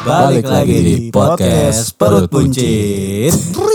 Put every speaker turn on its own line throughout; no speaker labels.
Balik lagi di podcast Perut Buncit.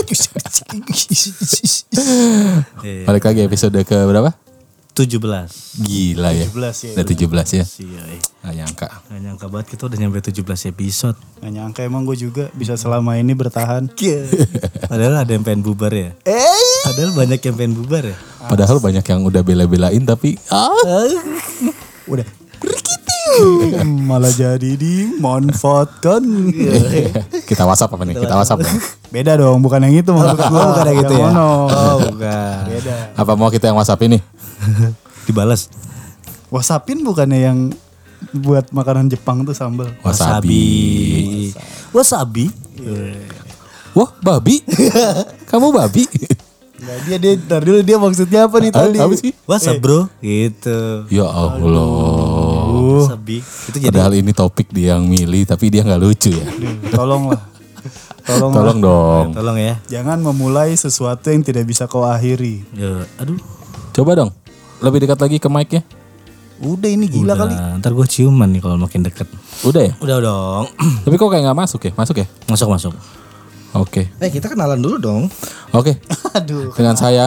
Balik lagi episode ke berapa?
17.
Gila ya.
17 ya.
Udah 17 ya.
Gak
Gak nyangka
banget kita udah nyampe 17 episode.
Gak nyangka emang gue juga bisa selama ini bertahan.
Padahal ada yang pengen bubar ya. Padahal banyak yang pengen bubar ya.
Padahal banyak yang udah bela-belain tapi
Udah malah jadi dimanfaatkan.
Kita WhatsApp apa nih? Kita WhatsApp nih.
Beda dong, bukan yang itu maksud gue.
Bukan yang gitu ya.
Oh,
bukan.
beda.
Apa mau kita yang WhatsApp ini?
Dibalas.
Wasapin bukannya yang buat makanan Jepang tuh sambal.
Wasabi.
Wasabi.
Wah, babi. Kamu babi.
Enggak, dia ntar dulu dia maksudnya apa nih tadi?
Apa sih?
What's up bro? Gitu.
Ya Allah.
Wasabi. Itu jadi
Padahal ini topik dia yang milih tapi dia nggak lucu ya.
Tolonglah.
Tolong dong.
tolong ya.
Jangan memulai sesuatu yang tidak bisa kau akhiri.
Ya, aduh.
Coba dong. Lebih dekat lagi ke mic-nya.
Udah ini gila kali.
Ntar gue ciuman nih kalau makin deket.
Udah ya?
Udah dong.
Tapi kok kayak nggak masuk ya? Masuk ya?
Masuk.
Oke.
Kita kenalan dulu dong.
Oke.
Aduh.
Dengan saya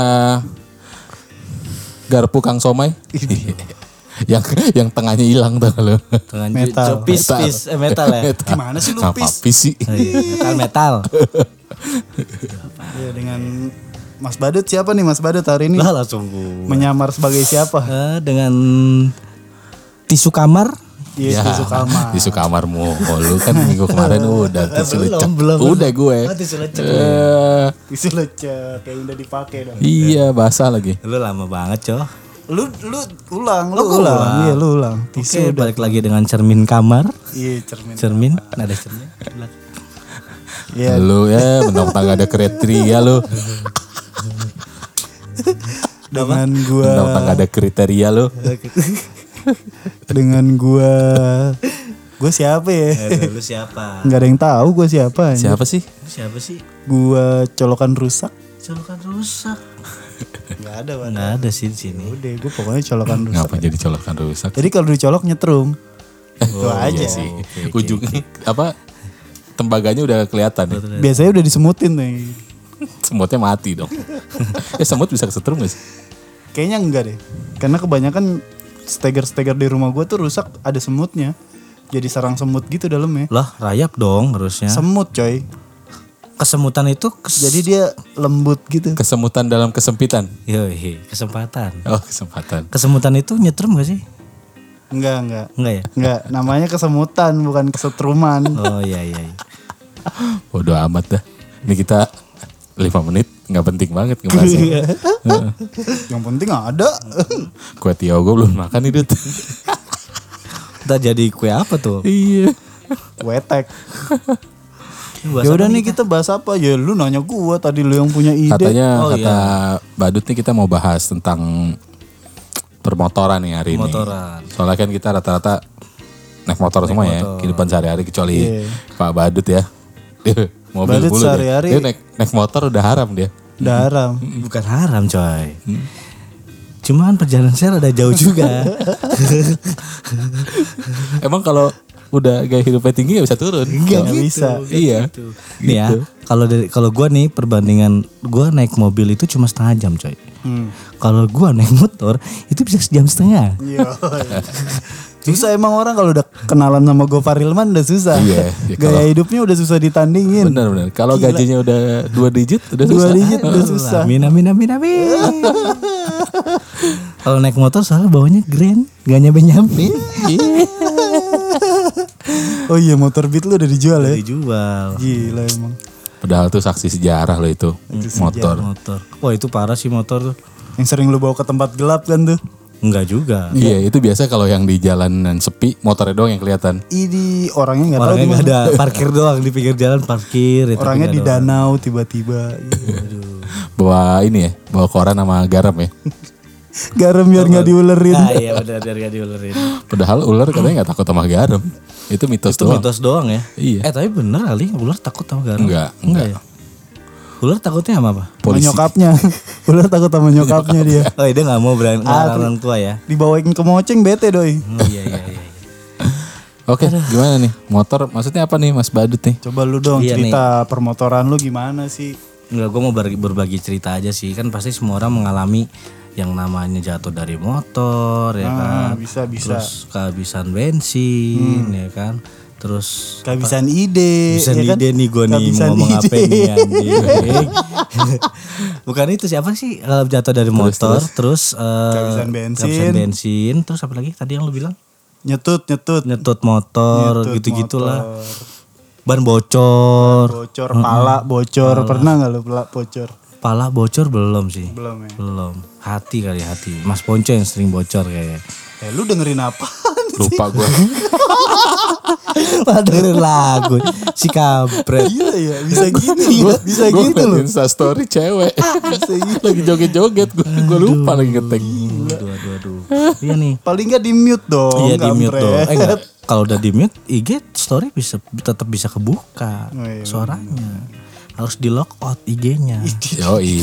Garpu Kang Somai. yang tengahnya hilang tuh lo.
Dengan
Metal.
metal ya.
Gimana sih lu
Apa
pis?
pis sih?
Metal.
Ya, dengan Mas Badut siapa nih Mas Badut hari ini?
Lah langsung gue.
Menyamar sebagai siapa?
Dengan tisu kamar.
Iya, tisu kamar.
Tisu kamarmu. Oh, lu kan minggu kemarin udah tisu lecek.
belum.
Udah gue.
Tisu lecek.
Tisu lecek kayak udah dipakai dong.
Iya, basah lagi.
Lu lama banget, Coh.
Lu ulang,
gua ulang.
Iya, lu ulang.
Oke,
Tisu udah.
balik lagi dengan cermin kamar.
Iya, cermin.
Cermin, ada cermin.
Iya.
Lu ya mentang-mentang gak ada kriteria lu.
Dengan gua
Mentang-mentang gak ada kriteria lu.
dengan gua siapa ya?
Lu siapa?
Enggak ada yang tahu gua siapa. anjir.
Siapa sih?
Siapa sih?
Gua colokan rusak.
Colokan rusak.
Enggak ada, Bang.
Nggak ada sih di sini.
Udah, gua pokoknya colokan rusak.
Ngapa jadi colokan rusak?
Jadi kalau dicolok nyetrum. Itu aja.
Iya sih. Ujungnya apa? Tembaganya udah kelihatan ya.
Biasanya udah disemutin nih.
Semutnya mati dong. Semut bisa kesetrum gak sih?
Kayaknya enggak deh. Karena kebanyakan steger-steger di rumah gue tuh rusak ada semutnya. Jadi sarang semut gitu dalamnya.
Lah, rayap dong harusnya.
Semut coy.
Kesemutan itu
Jadi dia lembut gitu.
Kesemutan dalam kesempitan.
Yoi, kesempatan.
Oh, kesempatan.
Kesemutan itu nyetrum gak sih?
Enggak.
Enggak ya?
Enggak, namanya kesemutan bukan kesetruman.
Oh iya.
Bodoh amat dah. Ini kita 5 menit nggak penting banget ngebahasnya.
Yang penting ada.
Kue tiaw gue belum makan nih Dut.
Kita jadi kue apa tuh?
Iya.
Wetek. Ya udah nih kita bahas apa? Ya lu nanya gua tadi lu yang punya ide.
Katanya
Oh,
kata Badut nih kita mau bahas tentang permotoran nih hari
Permotoran.
ini. Soalnya kan kita rata-rata naik motor semua ya. Kehidupan sehari-hari kecuali Pak Badut ya. Dia mobil
Badut
dulu
sehari-hari.
dia naik motor udah haram dia.
Udah haram.
Bukan haram coy. Cuman perjalanan saya rada jauh juga.
Emang kalau udah gaya hidupnya tinggi gak bisa turun?
Enggak bisa.
Iya.
Nih ya, kalau gua nih perbandingan gua naik mobil itu cuma setengah jam coy. Kalau gua naik motor itu bisa sejam setengah.
Iya. Susah emang orang kalau udah kenalan sama Gofar Hilman udah susah.
Iya, ya
Gaya hidupnya udah susah ditandingin.
Benar. Kalau gajinya udah 2 digit udah
2
susah.
digit udah susah.
Amin. Kalau naik motor soalnya bawanya grand, gak nyampe.
Oh iya motor Beat lu udah dijual ya?
Dijual.
Gila emang.
Padahal tuh saksi sejarah lo itu motor.
Motor. Wah itu parah sih motor tuh.
Yang sering lu bawa ke tempat gelap kan tuh.
Enggak juga.
Iya itu biasa kalau yang di jalanan sepi motornya doang yang kelihatan.
Ini orangnya nggak tahu
Orangnya
di
nggak
mana.
ada, parkir doang di pinggir jalan parkir. Ya, tapi
Orangnya
nggak
di
ada orang.
danau tiba-tiba.
Bawa ini ya, bawa koran sama garam ya.
Garam biar nggak diulerin.
Ah iya benar biar gak diulerin.
Padahal ular katanya gak takut sama garam. Itu mitos
Itu
doang.
mitos doang ya.
Iya.
Tapi bener kali ular takut sama garam.
Enggak.
ya. Ular takutnya sama apa?
Sama nyokapnya. Ular takut sama nyokapnya dia.
Oh dia gak mau ngelarang orang tua ya.
Dibawain ke moceng bete doi.
Iya.
Oke, gimana nih? Motor maksudnya apa nih Mas Badut nih?
Coba lu dong
Iya
cerita permotoran lu gimana sih?
Enggak, gue mau berbagi cerita aja sih. Kan pasti semua orang mengalami yang namanya jatuh dari motor ya kan.
Bisa.
Terus kehabisan bensin ya kan. Terus
Kehabisan ide.
kehabisan
ya kan?
ide nih gue nih
Kehabisan
mau ngomong
ide.
apa nih anjing. Bukan itu siapa sih kalau jatuh dari motor terus
Kehabisan bensin.
kehabisan bensin, terus apa lagi tadi yang lu bilang?
Nyetut.
Nyetut motor
Nyetut
gitu-gitulah.
motor.
Ban bocor.
Bocor, pala bocor. Pernah gak lu pala bocor?
Pala bocor belum sih.
Belum ya?
Belum. Hati kali hati. Mas Ponco yang sering bocor kayaknya.
Lu dengerin apaan sih?
Lupa gue.
Malah dengerin lagu si kampret.
Gila ya, bisa gini ya. Bisa
Gue
gitu loh.
Insta story cewek. Lagi joget-joget gue lupa lagi ngetek.
Aduh. Iya nih.
Paling gak di mute dong.
Iya di mute
kampret.
dong. Enggak. Kalau udah di mute, IG story tetap bisa kebuka
Oh, iya,
suaranya. Harus di lock out IG-nya.
Yoi.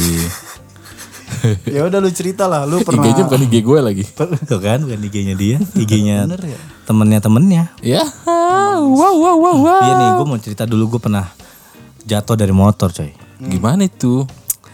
Ya udah lu cerita lah, lu pernah.
IG-nya bukan IG gue lagi.
Tuh kan bukan IG-nya dia, IG-nya
Bener ya?
temennya.
Ya. Wow.
Iya nih, gue mau cerita dulu gue pernah jatuh dari motor coy.
Gimana itu?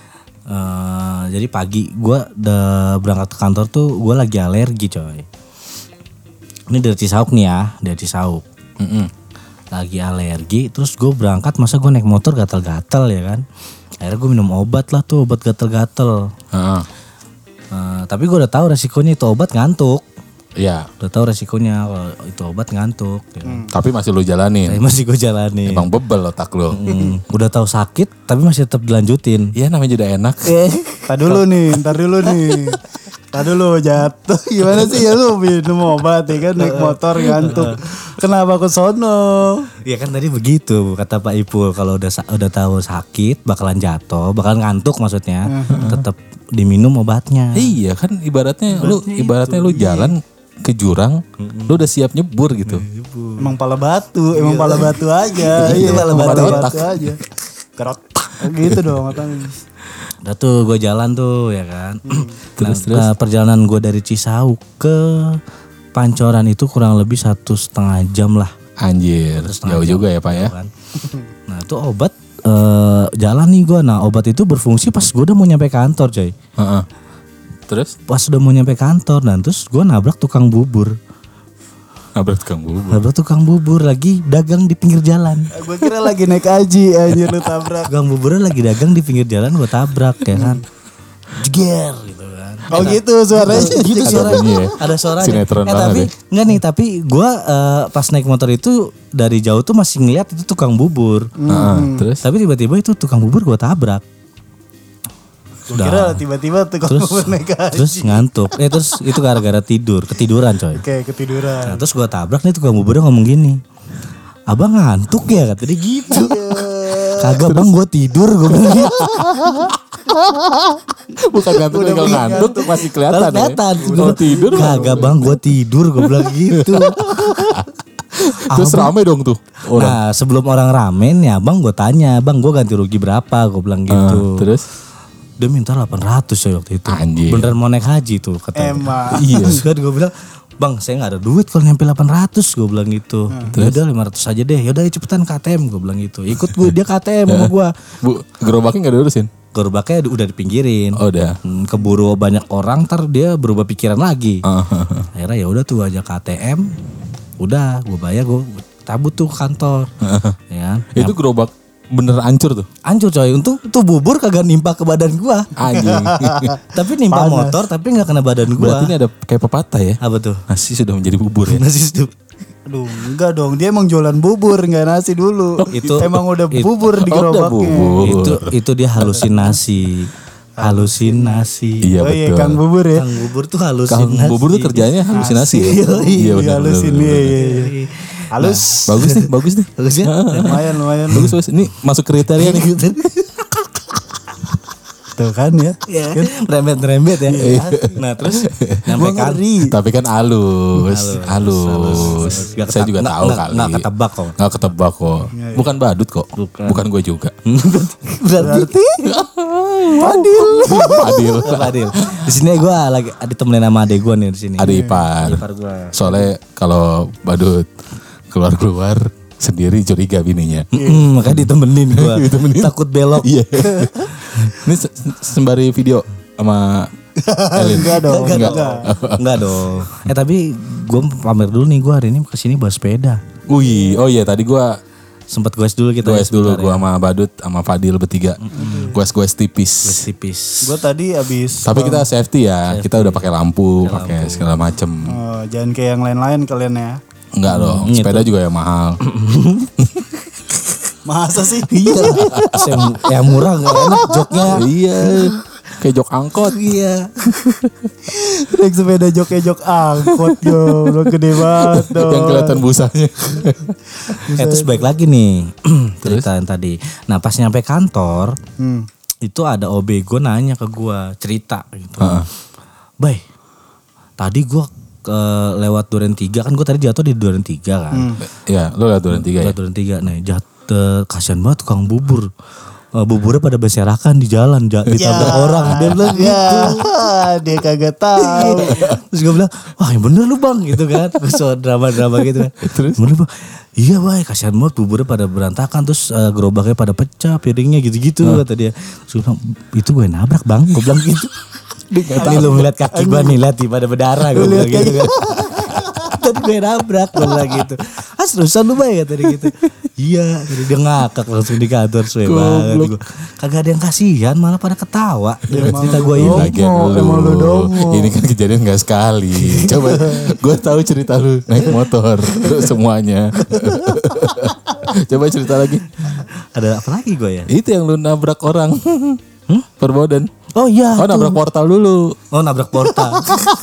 Jadi pagi gue udah berangkat ke kantor tuh gue lagi alergi coy. Ini dari Cisauk nih ya, dari Cisauk. Lagi alergi, terus gue berangkat masa gue naik motor gatal-gatal ya kan. Akhirnya gue minum obat lah tuh, obat gatal-gatal.
Heeh.
Tapi gue udah tahu resikonya itu obat ngantuk.
Iya.
Udah tahu resikonya kalau itu obat ngantuk. Ya kan.
Tapi masih lu jalanin.
Tapi masih gue jalanin.
Emang bebel otak lu.
Udah tahu sakit, tapi masih tetap dilanjutin.
Iya namanya juga enak.
Ntar dulu nih. Ntar dulu jatuh. Gimana sih ya lu minum obat ya kan, naik motor ngantuk. Kenapa ke sono?
Iya kan tadi begitu kata Pak Ipul, kalau udah tahu sakit bakalan jatuh, bakalan ngantuk maksudnya, tetap diminum obatnya.
Iya kan ibaratnya lu jalan ke jurang, lu udah siap nyebur gitu.
Emang pala batu aja. Iya,
pala batu
aja. Kerot. Gitu dong katanya.
Udah tuh gue jalan tuh ya kan.
Terus.
Perjalanan gue dari Cisauk ke Pancoran itu kurang lebih 1,5 jam lah.
Anjir, jauh juga ya Pak ya.
Kan. Nah itu obat jalan nih gue. Nah obat itu berfungsi pas gue udah mau nyampe kantor coy.
Heeh. Terus
Pas udah mau nyampe kantor, dan terus gue nabrak tukang bubur.
nabrak tukang bubur.
Nabrak tukang bubur lagi dagang di pinggir jalan.
Gue kira lagi naik haji aja lu tabrak.
Tukang buburnya lagi dagang di pinggir jalan, gue tabrak ya kan. Jeger gitu kan.
Oh gitu suaranya.
Gitu suaranya.
Bunyi ya.
Ada suaranya.
Sinetron banget
tapi
ya.
enggak nih, tapi gue pas naik motor itu dari jauh tuh masih ngeliat itu tukang bubur.
Heeh. Terus
Tapi tiba-tiba itu tukang bubur gue tabrak.
Gue kira tiba-tiba tuh
Terus
kalau naik haji.
terus ngantuk. Terus itu gara-gara ketiduran coy.
Kayak ketiduran.
Nah, terus gue tabrak nih tukang buburnya ngomong gini. Abang ngantuk ya, kata dia gitu. Kagak bang, gue tidur, gue bilang gitu.
bukan ngantuk, kalau ngantuk tuh masih kelihatan.
Kelihatan.
Kalau tidur
Kagak bang, gue tidur, gue bilang gitu.
terus rame dong tuh orang.
Nah sebelum orang rame nih abang, gue tanya, bang gue ganti rugi berapa, gue bilang gitu.
Terus
Dia minta 800 coy waktu itu.
Anjir.
Beneran mau naik haji tuh katanya.
Emang.
Iya.
Terus kan gue bilang, bang saya gak ada duit kalau nyampe 800, gue bilang gitu. Yaudah 500 aja deh, yaudah cepetan KTM, gue bilang gitu. Ikut gue, dia KTM sama gue.
Bu, gerobaknya gak diurusin?
Gerobaknya udah dipinggirin.
Oh udah.
Keburu banyak orang, ntar dia berubah pikiran lagi. Akhirnya ya udah tuh aja KTM, udah gue bayar, gue cabut tuh ke kantor. Ya kan?
Itu gerobak bener hancur tuh.
Hancur coy, untung tuh bubur kagak nimpa ke badan gua.
Anjing.
Tapi nimpa motor tapi nggak kena badan gua.
Berarti ini ada kayak pepatah ya.
Apa tuh?
Nasi sudah menjadi bubur ya.
Nasi stup.
Aduh enggak dong, dia emang jualan bubur nggak nasi dulu.
Itu-
emang udah
itu-
bubur di
Oh, udah
gerobaknya.
bubur.
Itu dia halusinasi. Halusinasi.
Iya
Oh iya
betul.
Kang bubur ya.
Kang bubur tuh
Kang
halusinasi.
bubur tuh kerjanya halusinasi ya.
Iya
benar,
halusin
benar, benar.
iya. Halus.
Bagus nih, bagus nih.
Bagus ya?
Lumayan.
Bagus, bagus. Ini masuk kriteria nih.
Tuh kan ya.
Ya, rembet-rembet ya. Nah, terus nyampe kan.
Tapi kan halus.
Nggak
Saya
keta-
juga
nggak-
tahu
nggak-
kali.
nggak ketebak kok.
Nggak ketebak kok. Bukan badut kok. Bukan gue juga.
Berarti
Adil.
Adil. Di sini gue lagi ditemenin sama adek gue nih di sini.
Ada ipar.
Ipar gue.
Soalnya kalau badut keluar sendiri curiga bininya.
Makanya ditemenin gue. Takut belok.
Iya. Ini sembari video sama Elin.
Enggak dong.
Enggak dong. Tapi gue pamer dulu nih, gue hari ini kesini bawa sepeda.
Wih, oh iya tadi gue
Sempet goes dulu kita.
goes dulu gue sama Badut sama Fadil bertiga. Goes tipis.
Tipis.
Gue tadi abis.
Tapi kita safety ya. Kita udah pakai lampu, pakai segala macem.
Oh, jangan kayak yang lain-lain kalian ya.
Enggak dong. Sepeda juga yang mahal.
Masa sih?
Iya. Yang murah gak enak joknya.
Iya. Kayak jok angkot.
Iya.
Naik sepeda jok angkot yo, lo gede banget dong.
Yang kelihatan busanya.
Terus balik lagi nih cerita yang tadi. Nah pas nyampe kantor itu ada OB gue nanya ke gue cerita gitu. Bay, tadi gue lewat Duren 3 kan, gue tadi jatuh di Duren 3 kan.
Iya, lu lihat Duren 3 ya.
Lewat Duren 3 nih jatuh, kasian banget tukang bubur. Buburnya pada berserakan di jalan ditabrak orang. Dia bilang gitu.
Dia kagak tahu.
Terus gue bilang, wah yang bener lu bang gitu kan. So drama-drama gitu kan.
Terus?
Bener bang. Iya bay, kasihan banget buburnya pada berantakan. Terus gerobaknya pada pecah, piringnya gitu-gitu kata dia. Terus gue bilang, itu gue nabrak bang. Gue bilang gitu. Ini lu ngeliat kaki gue nih, liat pada berdarah. Gue bilang gitu kan. Tadi gue nabrak, gue bilang gitu. Seriusan lu bay kata dia gitu. Iya, jadi dia ngakak langsung di kantor suwe banget. Kagak ada yang kasihan, malah pada ketawa dengan cerita gue ini.
Lagian ini kan kejadian gak sekali. Coba gue tahu cerita lu naik motor semuanya. Coba cerita lagi.
Ada apa lagi gue ya?
Itu yang lu nabrak orang. Perbodan.
Oh iya.
Oh nabrak portal dulu.
Oh nabrak portal.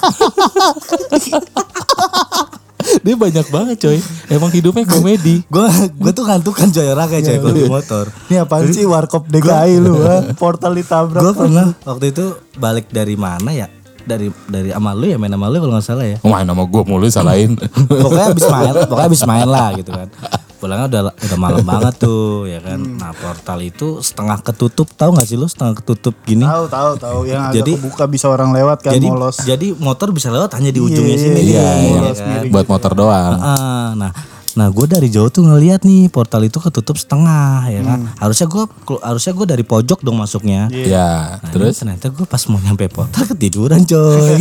Dia banyak banget coy. Emang hidupnya komedi.
Gue tuh ngantukan coy orang kayak coy kalau di motor.
Ini apaan sih warkop DKI lu portal ditabrak.
Gue pernah waktu itu balik dari mana ya? Dari sama lu ya, main sama lu kalau gak salah ya.
Main sama gue mulu salahin.
Pokoknya abis main lah gitu kan. Pulangnya udah malam banget tuh ya kan. Nah portal itu setengah ketutup, tahu gak sih lu setengah ketutup gini?
Tahu yang agak kebuka bisa orang lewat kan molos.
Jadi motor bisa lewat hanya di ujungnya sini.
Iya,
kan?
Buat motor doang.
Nah gue dari jauh tuh ngeliat nih portal itu ketutup setengah ya kan. Harusnya gue dari pojok dong masuknya.
Iya.
Nah,
Terus
ternyata gue pas mau nyampe portal ketiduran coy.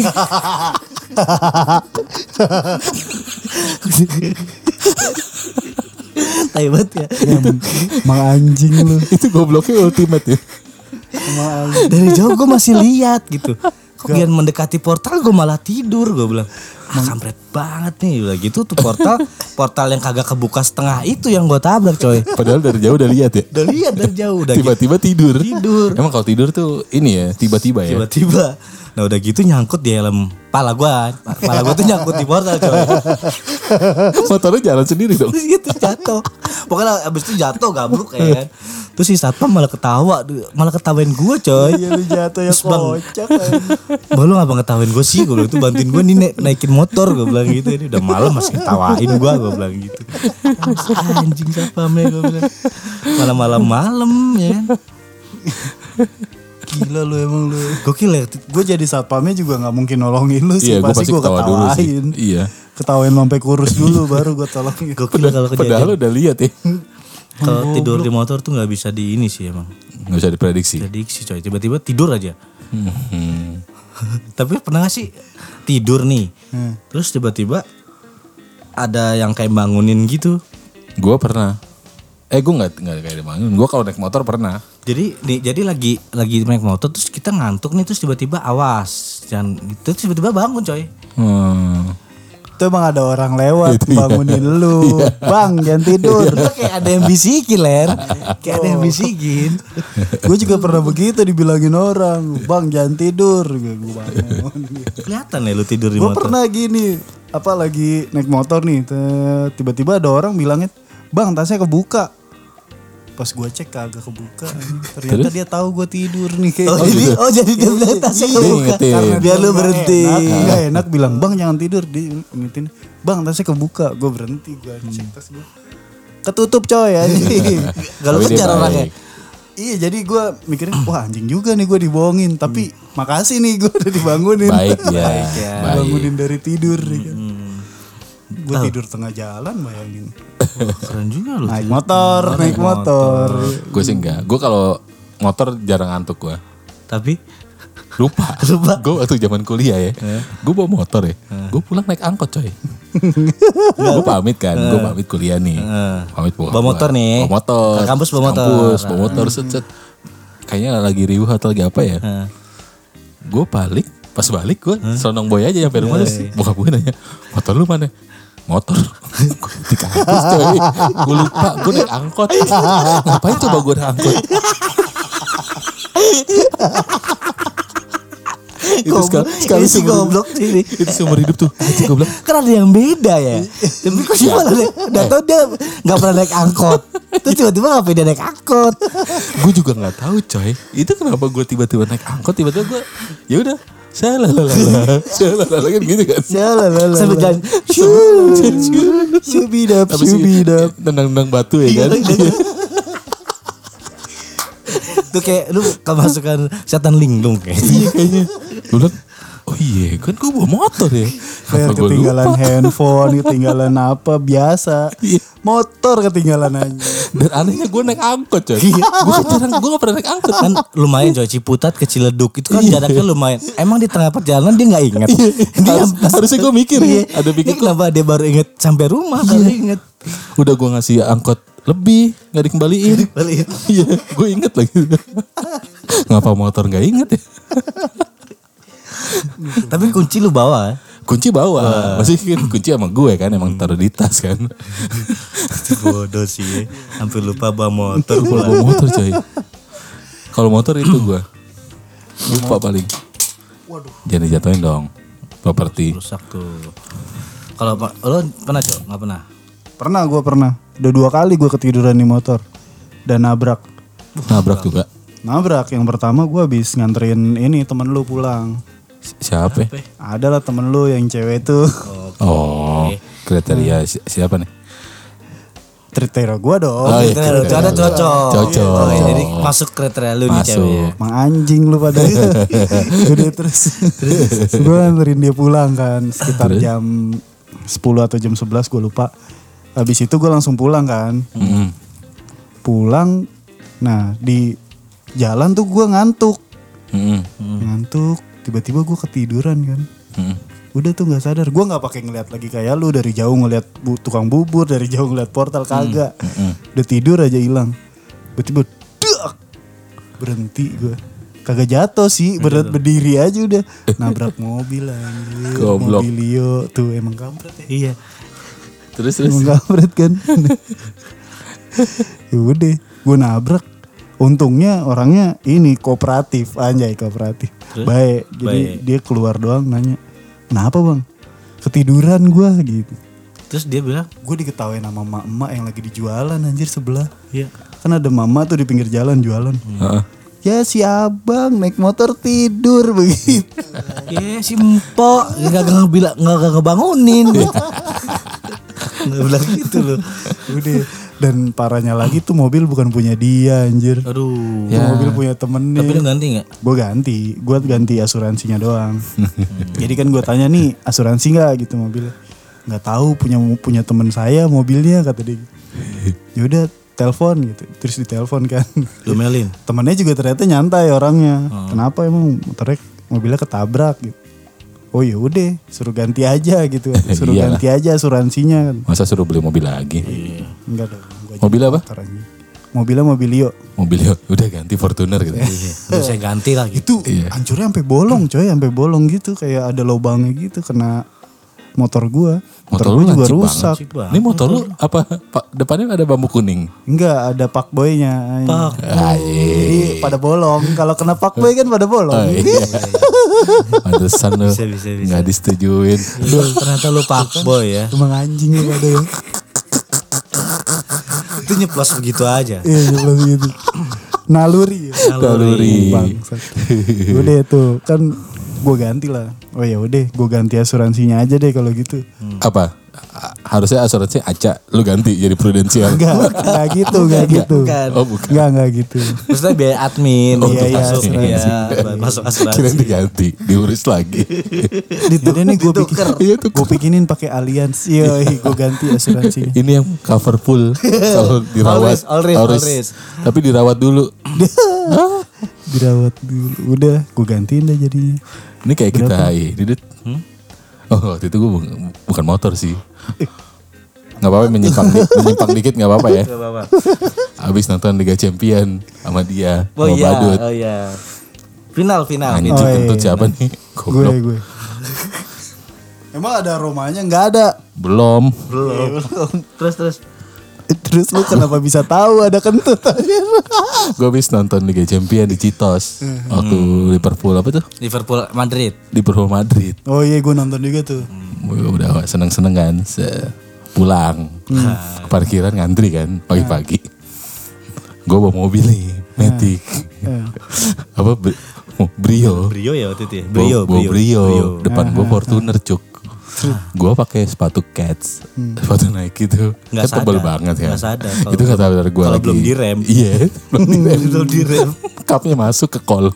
Tai banget ya.
Emang anjing lu.
itu gobloknya ultimate ya.
Dari jauh gue masih lihat gitu. Kok biar mendekati portal gue malah tidur. Gue bilang kampret banget nih. Udah gitu tuh portal yang kagak kebuka setengah itu yang gue tabrak coy.
Padahal dari jauh udah lihat ya.
Udah lihat dari jauh. Udah
Tiba-tiba tidur.
Tidur.
Emang kalau tidur tuh ini ya tiba-tiba ya.
Tiba-tiba. Nah udah gitu nyangkut di helm pala gue tuh nyangkut di portal coy.
Motornya jalan sendiri dong.
Terus gitu jatuh. Pokoknya abis itu jatuh gabruk kan. Terus si satpam malah ketawain gue coy.
Iya lu jatuh ya kocak.
Lu ngapa ngetawain gue sih? Gue bilang itu bantuin gue nih naikin motor. Gue bilang gitu. Ini udah malam masih ketawain gue bilang gitu. Anjing satpamnya gue bilang. Malam ya kan.
Gila lu emang lu.
Gokil ya.
Gue jadi satpamnya juga gak mungkin nolongin lu sih.
Iya,
pasti gue
ketawa dulu sih.
ketawain.
Iya.
Ketawain sampai kurus dulu baru gue tolongin.
Gokil kalau
Padahal
kejadian.
udah lihat ya.
Kalau tidur di motor tuh gak bisa di ini sih emang.
Gak bisa diprediksi.
Prediksi coy. Tiba-tiba tidur aja. Tapi pernah gak sih tidur nih. Terus tiba-tiba ada yang kayak bangunin gitu.
Gue pernah. Gue nggak kayak bangun. Gue kalau naik motor pernah.
Jadi lagi naik motor terus kita ngantuk nih terus tiba-tiba awas jangan gitu terus tiba-tiba bangun coy.
Itu emang ada orang lewat bangunin lu. Bang jangan tidur.
Kayak ada yang bisikin ler. Kayak ada yang bisikin.
Gue juga pernah begitu dibilangin orang. Bang jangan tidur. Gue bangun.
Kelihatan ya lu tidur di
Gue
motor.
pernah gini. Lagi naik motor nih. Tiba-tiba ada orang bilangin. Bang tasnya kebuka. Pas gue cek kagak kebuka. Ternyata dia tahu gue tidur nih kayak.
Jadi dia bilang tasnya kebuka.
Karena
Biar lu berhenti.
Gak enak bilang bang jangan tidur. Dia ngingetin. Bang tasnya kebuka. Gue berhenti. Gue cek tas gue. Ketutup coy ya.
Kalau
Tapi dia
kejar
baik.
orangnya.
Iya jadi gue mikirin wah anjing juga nih gue dibohongin. Tapi makasih nih gue udah dibangunin.
Baik ya.
Bangunin dari tidur nih kan. Gue tidur tengah jalan bayangin.
Keren juga lu.
Naik motor.
Gue sih enggak. Gue kalau motor jarang ngantuk gue.
Tapi
Lupa. Gue waktu zaman kuliah ya. Gue bawa motor ya. Gue pulang naik angkot coy. Gue pamit kan. Gue pamit kuliah nih. Pamit
bawa motor nih.
Bawa motor.
Ke kampus bawa motor.
Bawa motor set. Kayaknya lagi riuh atau lagi apa ya. Gue balik. Pas balik gue selonong boy aja sampai rumah. Terus bokap gue nanya, motor lu mana? Motor di kampus coy. Gue lupa. Gue naik angkot. Ngapain coba gue naik angkot? Itu sekali
si goblok ini.
Itu seumur hidup tuh. Gue bilang,
Kan ada yang beda ya. Tapi kok sih malah udah tau dia gak pernah naik angkot. Terus tiba-tiba ngapain dia naik angkot.
gue juga nggak tahu coy. Itu kenapa gue tiba-tiba naik angkot, tiba-tiba gue ya udah salah kan gitu kan.
Sampai jalan.
Subidap.
Tendang-tendang batu ya kan.
Itu kayak lu kemasukan setan linglung kayak.
Iya kayaknya. Gue bilang, oh iya kan gue bawa motor ya.
Kayak
Apa gua
ketinggalan
lupa?
handphone, ketinggalan apa biasa.
Iya.
Motor ketinggalan aja.
Dan anehnya gue naik angkot coy. Gue gak pernah naik angkot.
Kan lumayan coy, Ciputat ke Ciledug itu kan jaraknya lumayan. Emang di tengah perjalanan dia gak inget.
Harusnya gue mikir ya. Ada
Ini
pikir
kenapa dia baru inget sampai rumah baru inget.
udah gue ngasih angkot lebih nggak dikembaliin. Iya, gue inget lagi. Ngapa motor nggak inget ya?
Tapi kunci lu bawa.
Kunci bawa, masih kan kunci sama gue kan, emang taruh di tas kan.
Bodoh sih ya. Sampai lupa bawa motor
Bawa
pula.
motor coy. Kalau motor itu gue lupa paling. Jangan dijatuhin dong. Properti.
Rusak tuh. Kalau lo pernah Cok? Nggak pernah?
Gue pernah. Udah 2 kali gue ketiduran di motor. Dan nabrak.
Nabrak juga.
Nabrak, yang pertama gue habis nganterin ini temen lu pulang.
Siapa?
Ada lah temen lu yang cewek tuh.
Oh, kriteria siapa nih?
Kriteria gue dong.
Oh, iya.
Itu ada cocok.
Cocok.
Oh, jadi masuk kriteria lu nih
Masuk.
ceweknya.
Mang anjing lu pada. Udah terus gue nganterin dia pulang kan. Sekitar jam 10 atau jam 11 gue lupa. Habis itu gue langsung pulang kan. Pulang. Nah di jalan tuh gue ngantuk. Ngantuk. Tiba-tiba gue ketiduran kan. Udah tuh nggak sadar. Gue nggak pakai ngeliat lagi kayak lu, dari jauh ngeliat tukang bubur, dari jauh ngeliat portal, kagak. Udah tidur aja hilang. Tiba-tiba dak, berhenti gue. Kagak jatuh sih, berdiri aja udah. Nabrak mobil anjir.
Goblok.
Mobil Leo tuh emang kampret ya.
Iya.
Terus.
Emang kampret kan. Ya udah, gue nabrak. Untungnya orangnya ini kooperatif, anjay kooperatif. Baik, jadi dia keluar doang nanya, kenapa bang? Ketiduran gue gitu.
Terus dia bilang,
Gue diketawain sama emak-emak yang lagi dijualan anjir sebelah.
iya.
Kan ada mama tuh di pinggir jalan jualan. Ya si abang naik motor tidur begitu.
Ya si Mpok nggak ngebangunin. Nggak bilang gitu loh.
Udah. Dan parahnya lagi tuh mobil bukan punya dia anjir.
Aduh.
Tuh mobil punya temennya.
Tapi lu ganti nggak?
Gue ganti asuransinya doang. Jadi kan gue tanya nih, asuransi nggak gitu mobilnya? Nggak tahu, punya teman saya mobilnya kata dia. Ya udah telepon gitu, terus ditelepon kan.
Lu melin.
Temennya juga ternyata nyantai orangnya. Kenapa emang mobilnya ketabrak gitu? Oh ya udah, suruh ganti aja gitu. Suruh
Iyalah.
ganti aja asuransinya kan.
Masa suruh beli mobil lagi?
Enggak dong. gua
Mobil
jadi
apa?
motor aja. Mobilnya mobil Leo.
Mobilnya udah ganti Fortuner gitu.
Terus saya ganti lagi.
Itu hancurnya sampai bolong coy, sampai bolong gitu, kayak ada lubangnya gitu kena motor gua. Motor
lu
gua juga
lancip
rusak.
banget.
Ini motor lu apa? Depannya ada bambu kuning.
Enggak, ada fuckboy-nya.
Pak.
Jadi pada bolong. Kalau kena fuckboy kan pada bolong.
Oh, iya. Pantesan lu
Bisa.
nggak disetujuin.
Ternyata lu fuckboy ya.
Emang anjing lu pada ya.
Itu nyeplos begitu aja.
Iya, jelas gitu. Naluri ya.
Naluri.
Bangsat. Udah tuh kan gue ganti lah. Oh ya udah, gue ganti asuransinya aja deh kalau gitu.
Apa? harusnya asuransi Aca lu ganti jadi prudensial.
Enggak gitu.
Bukan.
Oh bukan.
Enggak gitu.
Maksudnya biaya admin.
Oh,
untuk
iya,
masuk,
asuransi.
iya, masuk asuransi.
Kira diganti, diurus lagi.
Jadi nih gue
Ditukar.
gue bikinin pakai Allianz. Iya, gue ganti asuransinya.
Ini yang cover full kalau dirawat.
Always.
Tapi dirawat dulu.
Dirawat dulu. Udah, gue gantiin dah jadinya.
Ini kayak kita Didit. Oh waktu itu gue bukan motor sih. Gak apa-apa menyimpang dikit gak apa-apa ya.
Gak apa-apa.
Abis nonton Liga Champion sama dia.
Oh
sama
iya,
Badut.
oh iya. Final.
Anjing
Oh, iya.
kentut siapa nih? Goblok.
Gue. Emang ada aromanya? Enggak ada.
Belum.
Terus.
Terus lu kenapa bisa tahu ada kentut?
Gue habis nonton Liga Champion di Citos. Waktu Liverpool apa tuh?
Liverpool Madrid.
Liverpool Madrid.
Oh iya, gue nonton juga tuh.
Udah seneng-seneng kan. Pulang. Ke parkiran ngantri kan pagi-pagi. Gue bawa mobil nih. Matic. Apa? Brio.
Brio ya waktu itu ya?
Bawa Brio. Depan gue Fortuner cuk. Gue pakai sepatu Cats, sepatu Nike itu
Nggak
kan tebel
sadar.
banget kan.
Nggak sadar
Itu kata benar gue
kalau
lagi.
belum direm.
Iya,
Belum direm.
Cupnya masuk ke kolom.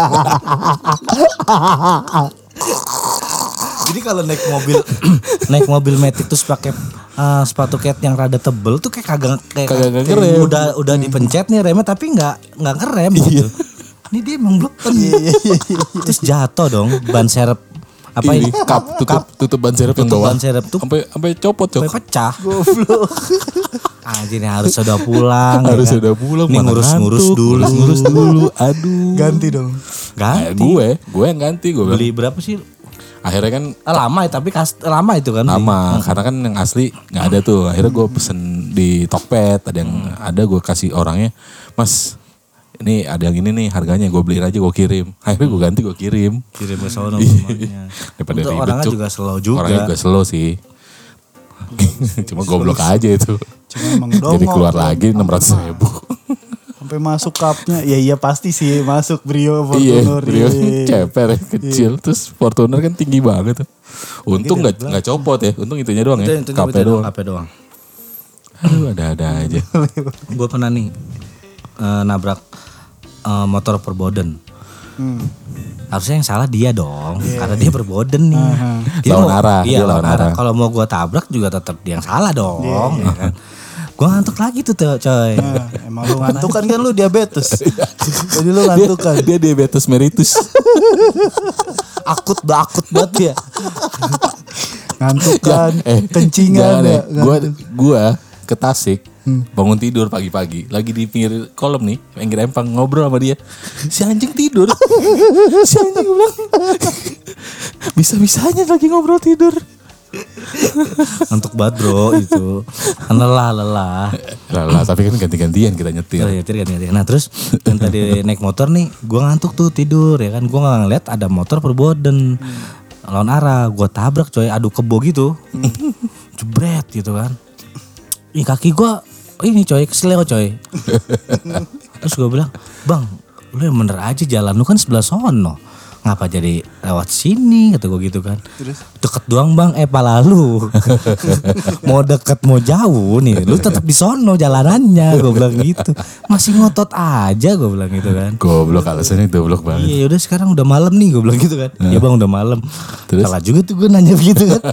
Jadi kalau naik mobil Matic terus pakai sepatu cat yang rada tebel tuh kayak kagak
ngerem.
udah dipencet nih remnya tapi nggak ngerem gitu. Ini dia emang bleken. Terus jatuh dong ban serep apa
Ini
ini?
cup tutup ban serep yang
Tutup
bawah.
ban serep tuh
Sampai copot cok.
sampai pecah. Goblok. Ini harus udah pulang.
Harus
ya kan?
udah pulang.
Nih
mana
ngurus
ngantuk, ngurus dulu. Aduh.
Ganti dong.
Ganti.
Gue yang ganti gue.
Beli berapa sih?
Akhirnya kan
Lama ya tapi lama itu kan.
lama karena kan yang asli nggak ada tuh. Akhirnya gue pesen di Tokped, ada yang ada gue kasih orangnya, Mas ini ada yang ini nih harganya, gue beliin aja gue kirim. Akhirnya gue ganti gue kirim.
Kirim ke sono rumahnya.
Daripada
Untuk
ribet,
orangnya
Cuk.
juga slow juga.
Orangnya juga slow sih. Cuma goblok aja itu.
Cuma emang dongol.
Jadi keluar lagi 600.000.
Sampai masuk cupnya. Ya iya pasti sih masuk Brio
Iya,
Fortuner.
Brio
Iya.
ceper ya, kecil. Terus Fortuner kan tinggi banget tuh. Untung nggak copot ya. Untung itunya doang ya. Kape doang.
Kape doang.
Aduh ada aja.
Gue pernah nih nabrak motor perboden. Harusnya yang salah dia dong, karena dia perboden nih.
Lawan arah,
Iya,
dia lawan arah.
Kalau mau gue tabrak juga tetap dia yang salah dong. Ya kan? Gue ngantuk lagi tuh coy.
Nah, emang lu ngantuk kan lu diabetes. Jadi lu ngantuk kan.
Dia diabetes mellitus.
akut banget ya.
Ngantuk kan. Kencingan
jangan
ya.
Gua ke Tasik. Bangun tidur pagi-pagi. Lagi di pinggir kolam nih. Pinggir empang ngobrol sama dia. Si anjing tidur. Si anjing bilang. Bisa-bisanya lagi ngobrol tidur.
Ngantuk banget bro itu. Lelah.
Lah tapi kan ganti-gantian kita nyetir.
Oh, iya, ganti. Nah terus yang tadi naik motor nih, gue ngantuk tuh tidur ya kan, gue nggak ngeliat ada motor perboden lawan arah, gue tabrak coy, adu kebo gitu, jebret gitu kan, kaki gue ini coy kesleo coy, terus gue bilang, bang, lu yang bener aja jalan lu kan sebelah sono. Ngapa jadi lewat sini kata gue gitu kan. Terus? Deket doang bang, pala lu. Mau deket mau jauh nih, lu tetap di sono jalanannya, gue bilang gitu. Masih ngotot aja gue bilang gitu kan.
Goblok alasannya goblok banget.
Iya udah sekarang udah malam nih gue bilang gitu kan. Ya bang udah malam.
Terus?
Salah juga tuh gue nanya begitu kan.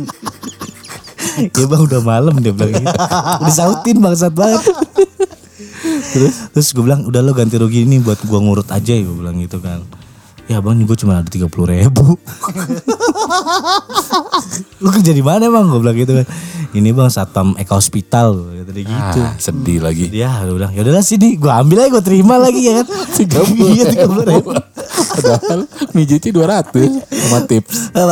Ya bang udah malam dia bilang gitu. Disautin bangsat banget. Terus gue bilang udah lo ganti rugi ini buat gue ngurut aja gue bilang gitu kan. Ya bang gue cuma ada 30.000. Lu kerja di mana bang? Gue bilang gitu kan. Ini bang Satpam Eka Hospital gitu.
Sedih lagi.
Dia udah ya udahlah sini gue ambil aja gue terima lagi ya kan. 30.000.
Padahal mijitnya 200 sama tips.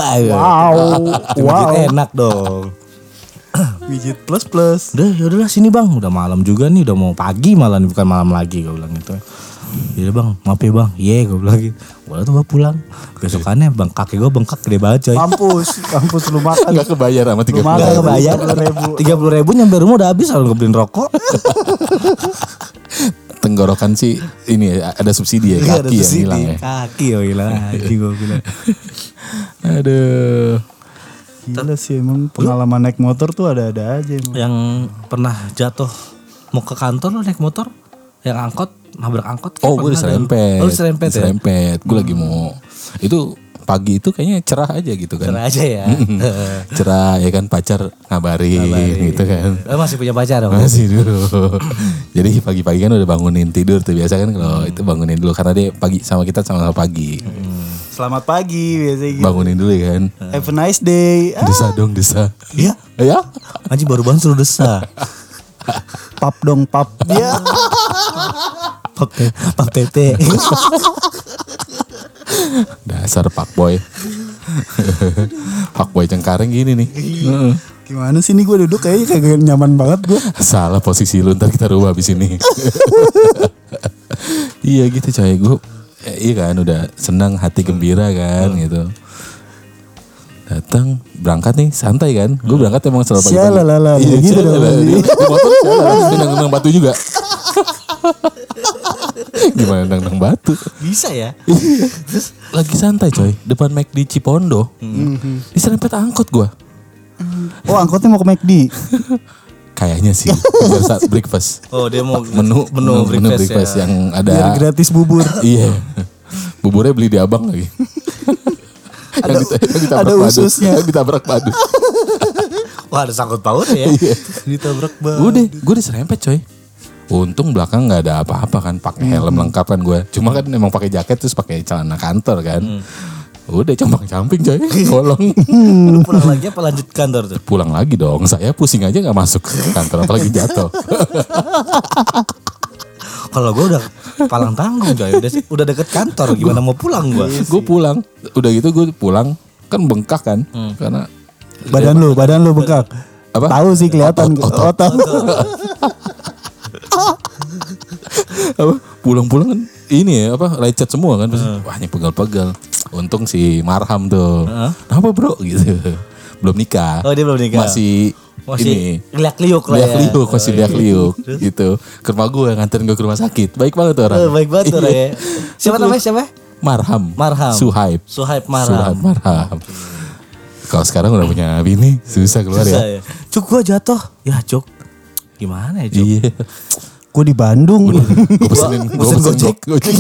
Wow. Enak dong.
Widget plus.
Udah ya udahlah sini bang. Udah malam juga nih, udah mau pagi malah bukan malam lagi gue bilang gitu. Iya bang, maaf ya bang. Iya gue bilang gitu. Walau tuh gue pulang. Besokannya bang kaki gue bengkak gede banget coy.
Kampus lu makan.
Gak kebayar sama 30.000.
makan.
Gak kebayar 30.000 nyampe rumah udah habis kalau ngebeliin rokok.
Tenggorokan sih ini ya, ada subsidi ya, kaki yang hilang ya.
Kaki yang hilang aja gue bilang.
Aduh.
Gila sih emang pengalaman naik motor tuh ada-ada aja emang.
Yang pernah jatuh mau ke kantor lo naik motor, yang angkot nabrak angkot.
Oh, gue diserempet.
Oh, diserempet ya.
Gue lagi mau itu pagi itu kayaknya cerah aja gitu kan.
Cerah aja ya.
Cerah ya kan, pacar ngabarin gitu kan.
Lo masih punya pacar dong?
Masih dulu. Jadi pagi-pagi kan udah bangunin tidur tuh biasa kan kalau itu bangunin dulu karena dia pagi sama kita sama pagi.
Selamat pagi biasanya gitu.
Bangunin dulu ya kan.
Have a nice day.
Desa dong desa.
Iya.
Ya.
Anjing baru bangun suruh desa.
Pap dong pap. Ya.
Pap tete.
Dasar fuckboy. Fuckboy Cengkareng gini nih.
Gimana sih nih gue duduk kayaknya kagak nyaman banget gue.
Salah posisi lu, ntar kita rubah abis ini. Iya gitu coy, gue iya kan udah senang, hati gembira kan gitu. Datang berangkat nih santai kan, gue berangkat emang selalu pagi-pagi.
Sialalala,
Iya
gitu
gitu
dong.
di motor nendang batu juga. Gimana nendang batu?
Bisa ya?
Terus lagi santai coy, depan McD Cipondo, diserempet angkot gue.
Oh angkotnya mau ke McD.
Kayaknya sih biar saat breakfast.
Oh dia mau
Menu breakfast
ya.
yang ada
Biar gratis bubur.
Iya. Buburnya beli di Abang lagi. yang ditabrak
ada
padu.
ususnya.
Yang ditabrak padu.
Wah ada sangkut paut ya.
Ditabrak banget.
Udah, gue diserempet coy. Untung belakang nggak ada apa-apa kan, pakai helm lengkap kan gue. Cuma kan emang pakai jaket terus pakai celana kantor kan. Udah camping coy, kolong.
Lu pulang lagi apa lanjut kantor tuh?
Pulang lagi dong, saya pusing aja nggak masuk ke kantor apalagi jatuh.
Kalau gue udah palang tanggung coy, udah deket kantor, gimana mau pulang gue?
Gue pulang, udah gitu gue pulang kan bengkak kan, karena
Badan lu bengkak.
Apa?
Tahu sih kelihatan.
Otot.
Tahu.
apa pulang-pulang kan ini ya apa lecet semua kan. Wah ini pegal-pegal. Untung si Marham tuh. Kenapa bro gitu. Belum nikah.
Oh dia belum nikah.
Masih ini
liak-liuk lah ya.
liak-liuk, masih liak-liuk gitu. Ke rumah gue nganterin gue ke rumah sakit. Baik banget tuh orang.
Baik banget tuh ya. Siapa namanya siapa?
Marham.
Suhaib Marham.
Kalau sekarang udah punya bini susah keluar ya.
Cuk gue jatuh. Ya Cuk. Gimana ya Cuk?
Iya.
Gue di Bandung.
Gue pesenin Gojek.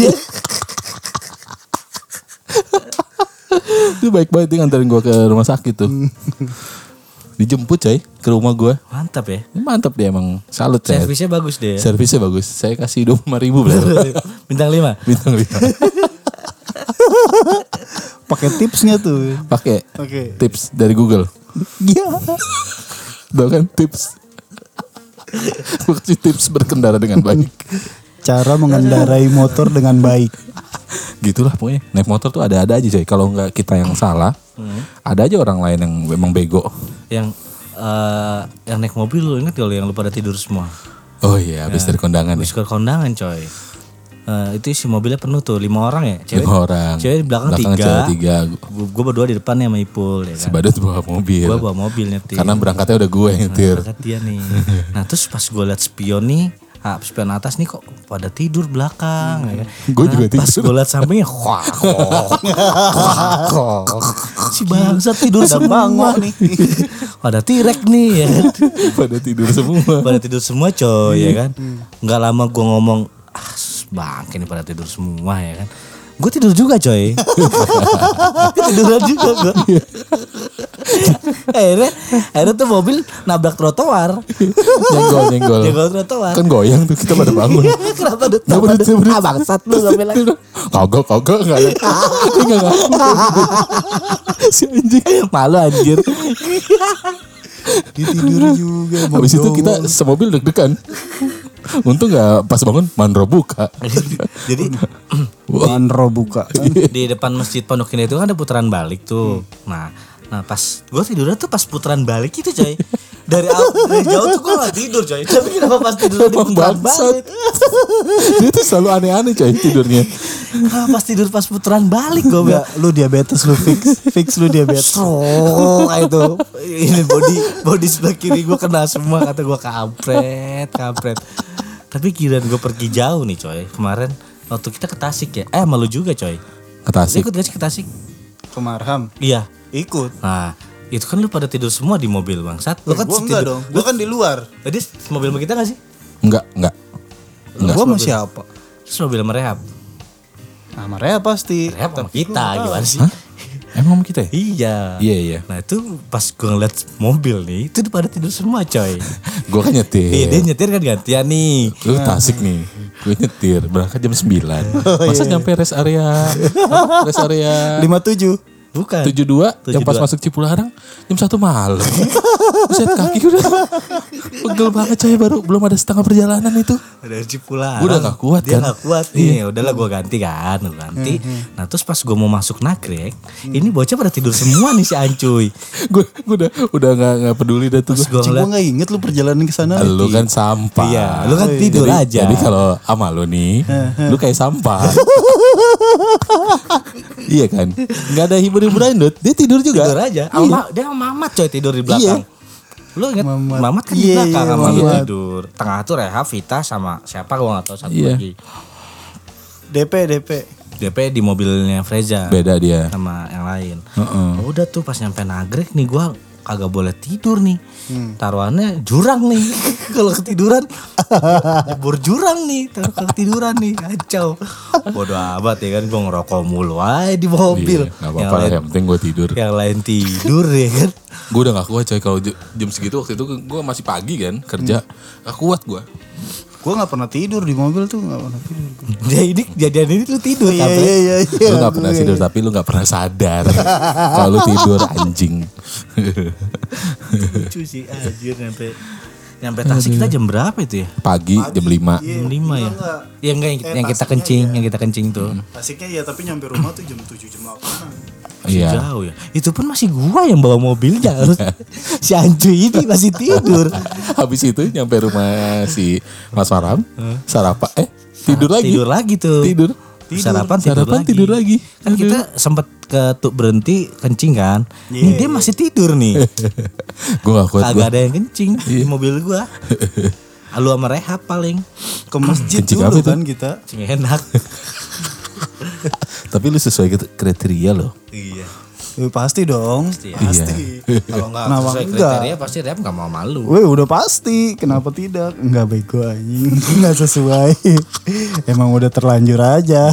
Itu baik banget dia nganterin gue ke rumah sakit tuh. Dijemput coy ke rumah gue.
Mantap ya.
Mantap dia emang, salut ya.
Servisnya bagus deh.
Servisnya bagus. Saya kasih 25.000 berarti.
Bintang 5.
Bintang 5.
Pakai tipsnya tuh.
Pakai tips dari Google.
Iya.
Tahu kan tips. Gue kasih tips berkendara dengan baik.
Cara mengendarai motor dengan baik.
Gitulah pokoknya. Naik motor tuh ada-ada aja coy. Kalau nggak kita yang salah, ada aja orang lain yang memang bego.
Yang naik mobil lu ingat kalau yang lu pada tidur semua?
Oh iya, habis dari kondangan
Habis
ya.
ke kondangan coy. Itu isi mobilnya penuh tuh 5 orang ya.
5 orang.
Cewek di belakang 3.
cewek 3.
Gue berdua di depan sama Ipul ya kan.
Si Badut bawa mobil.
Gue bawa mobil nyetir.
Karena berangkatnya udah gue yang nyetir.
Berangkat dia nih. Nah terus pas gue liat spion nih, spion atas nih kok pada tidur belakang ya kan.
Gue juga tidur.
Pas gue liat sampingnya, si bangsat tidur semua nih. Pada tirek nih ya kan.
Pada tidur semua.
Pada tidur semua coy ya kan. Nggak lama gue ngomong, bangke nih pada tidur semua ya kan. Gue tidur juga coy. Tiduran juga gue. akhirnya tuh mobil nabrak trotoar. Nyenggol trotoar.
Kan goyang tuh kita pada bangun.
Kenapa duduk? Bangsat lu gue bilang.
Kagak enggak ada. Dia enggak ngaku. Si anjing.
Malu anjir.
Dia tidur juga.
Habis itu kita semobil deg-degan. Untung gak pas bangun Manro buka.
Jadi
Manro buka.
di depan masjid Pondok Indah itu kan ada putaran balik tuh. Nah pas gue tidurnya tuh pas putaran balik itu coy. Dari jauh tuh gue gak tidur coy. Tapi kenapa pas tidur di putaran balik?
Dia tuh selalu aneh-aneh coy tidurnya.
Kenapa pas tidur pas putaran balik gue bilang.
Lu diabetes lu fix lu diabetes.
Kayak itu. Ini body sebelah kiri gue kena semua, kata gue kampret. Tapi kirain gue pergi jauh nih coy. Kemarin waktu kita ke Tasik ya. Malu juga coy.
Ke Tasik.
Ikut gak sih ke Tasik?
Ke Marham.
Iya.
Ikut.
Nah Itu kan lu pada tidur semua di mobil bangsat. Lu kan
Gue enggak dong, gue kan di luar.
Tadi mobil sama kita gak sih?
Enggak.
Gue sama siapa?
Terus mobil sama Rehab.
Nah, Maria pasti.
Rehab sama kita gimana sih?
Hah? Emang sama kita ya?
Iya.
Iya.
Nah itu pas gue ngeliat mobil nih, itu pada tidur semua coy.
Gue kan nyetir.
Iya dia nyetir kan gantian nih.
Lu Tasik nih. Gue nyetir berangkat jam 9. Masa nyampe rest area
57.
Bukan.
72 yang pas masuk Cipularang jam 1 malam. Buset kaki gue udah pegel banget coy, baru belum ada setengah perjalanan itu.
Dari Cipularang.
Gue udah gak kuat
dia
kan.
gak kuat nih. Udahlah gue ganti kan. Gue ganti. Nah terus pas gue mau masuk Nagrek. Ini bocah pada tidur semua nih si Ancuy.
Gue udah gak peduli dah tuh.
Terus
Gua.
gue
Gue gak inget lu perjalanan ke sana.
Lu kan sampah.
Iya, lu kan tidur aja.
Jadi kalau sama lu nih, lu kayak sampah. Iya kan? Gak ada hibur-hiburan Dut. Dia tidur juga.
tidur aja. Dia sama Mamat coy tidur di belakang. Lu inget Mamat kan di
Iya,
belakang
iya,
sama lu
Mamat.
tidur. Tengah tuh Reha, Vita sama siapa gue gak tahu satu
Iya.
lagi. DP di mobilnya Freza.
Beda dia.
Sama yang lain.
Heeh.
Udah tuh pas nyampe Nagrek nih gue kagak boleh tidur nih. Taruhannya jurang nih. Kalau ketiduran jebur jurang nih. Taruh ketiduran nih kacau. Bodoh amat ya kan gue ngerokok mulu aja di mobil.
Iya, gak apa-apa lah, yang penting gue tidur.
Yang lain tidur ya kan.
Gue udah gak kuat coy. Kalau jam segitu waktu itu gue masih pagi kan kerja. Gak kuat gue.
Gue gak pernah tidur di mobil tuh, gak pernah tidur.
Jadi kejadian ini lu tidur
Iya,
Kapre.
iya.
Lu gak pernah tidur tapi lu gak pernah sadar. Kalau lu tidur anjing.
Lucu sih anjir nyampe Tasik kita jam berapa itu ya?
Pagi jam 5.
Jam 5 ya? Iya enggak yang kita kencing, yang kita kencing tuh.
Tasiknya ya, tapi nyampe rumah tuh jam 7, jam 8.
Iya.
Jauh ya. Itu pun masih gua yang bawa mobilnya. Si Ancuy ini masih tidur.
Habis itu nyampe rumah si Mas Faram, sarapan tidur lagi.
Tidur lagi tuh.
Tidur.
Sarapan
tidur lagi.
Kan kita sempat berhenti kencing kan. Ini dia masih tidur nih.
Gue gak kuat.
Kagak ada yang kencing di mobil gua. Lu sama Rehab paling.
Ke masjid
Kencing
dulu
apa itu?
kan kita.
Kencing enak.
Tapi lu sesuai kriteria loh.
Iya.
Pasti dong.
Iya.
Kalau nggak
Kenapa
sesuai
enggak?
kriteria pasti Rehab nggak mau malu.
Weh udah pasti, kenapa tidak? Enggak bego anjing, enggak sesuai. Emang udah terlanjur aja.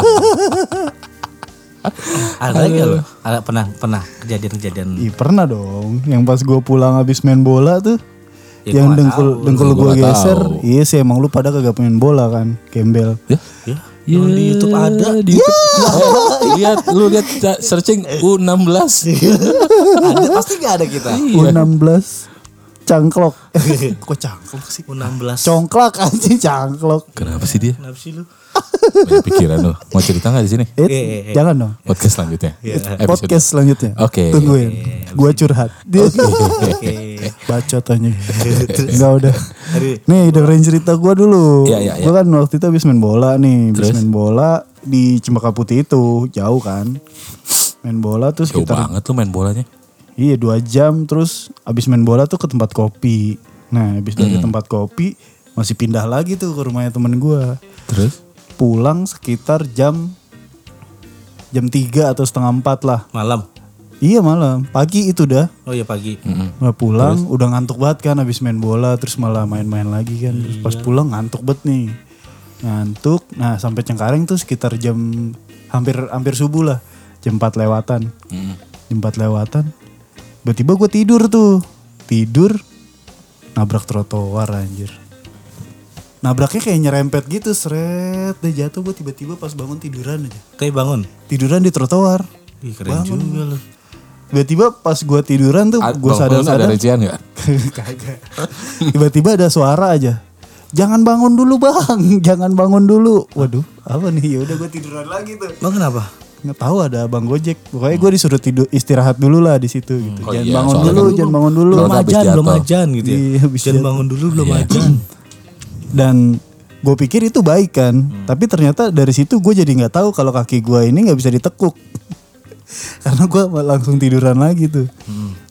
Ada lagi nggak lo? Ada pernah kejadian-kejadian.
Ih pernah dong, yang pas gue pulang habis main bola tuh.
Ya,
yang
gua nggak tahu.
dengkul
Gua
gue
nggak
geser.
tahu.
Iya sih emang lu pada kagak main bola kan, gembel.
Ya?
Ya, di YouTube ada.
Di YouTube. Lu lihat searching U16.
Ada pasti nggak ada kita.
U16 cangklok. Kok cangklok sih?
U16.
Congklak anjing cangklok.
Kenapa sih dia?
Kenapa sih lu?
Banyak pikiran lu. Mau cerita gak di sini?
Jangan dong.
Podcast selanjutnya. Episode.
Podcast selanjutnya.
Oke.
Tungguin. Gua curhat. Dia
Oke.
bacot anjing. Enggak udah. Nih dengerin cerita gua dulu.
Iya.
Gua kan waktu itu habis main bola nih. Habis
Terus?
main bola di Cempaka Putih itu. Jauh kan. Main bola tuh
Jauh
sekitar
banget lu main bolanya.
iya 2 jam. Terus habis main bola tuh ke tempat kopi. Nah habis dari tempat kopi masih pindah lagi tuh ke rumahnya temen gua.
Terus?
Pulang sekitar jam 3 atau setengah 4 lah.
Malam.
Iya malam. Pagi itu dah.
Oh iya pagi.
Udah pulang, udah ngantuk banget kan habis main bola, terus malah main-main lagi kan. Terus pas pulang ngantuk banget nih. Ngantuk. Nah, sampai Cengkareng tuh sekitar jam hampir subuh lah. Jam 4 lewatan. Jam 4 lewatan. Tiba-tiba gue tidur tuh. Tidur nabrak trotoar anjir. Nabraknya kayak nyerempet gitu, seret. Dia jatuh, gue tiba-tiba pas bangun tiduran aja.
Kayak bangun.
Tiduran di trotoar.
Ih, keren juga lu.
Tiba-tiba pas gue tiduran tuh gue
Ada
sadar-sadar.
rincian gak?
Kagak. Tiba-tiba ada suara aja. Jangan bangun dulu bang, jangan bangun dulu. Waduh, apa nih? Ya udah gue tiduran lagi tuh.
Bang kenapa?
Nggak tahu ada bang Gojek. Pokoknya gue disuruh tidur istirahat dulu lah di situ gitu.
Oh
Jangan
iya,
bangun
soalnya
dulu,
kan
jangan bangun dulu.
Kalau
Belum
habis
ajan, belum
jatuh.
ajan gitu ya.
Iya, habis
Jangan
jatuh.
bangun dulu belum
Iya.
ajan.
Dan gue pikir itu baik kan. Tapi ternyata dari situ gue jadi nggak tahu kalau kaki gue ini nggak bisa ditekuk. Karena gue langsung tiduran lagi tuh.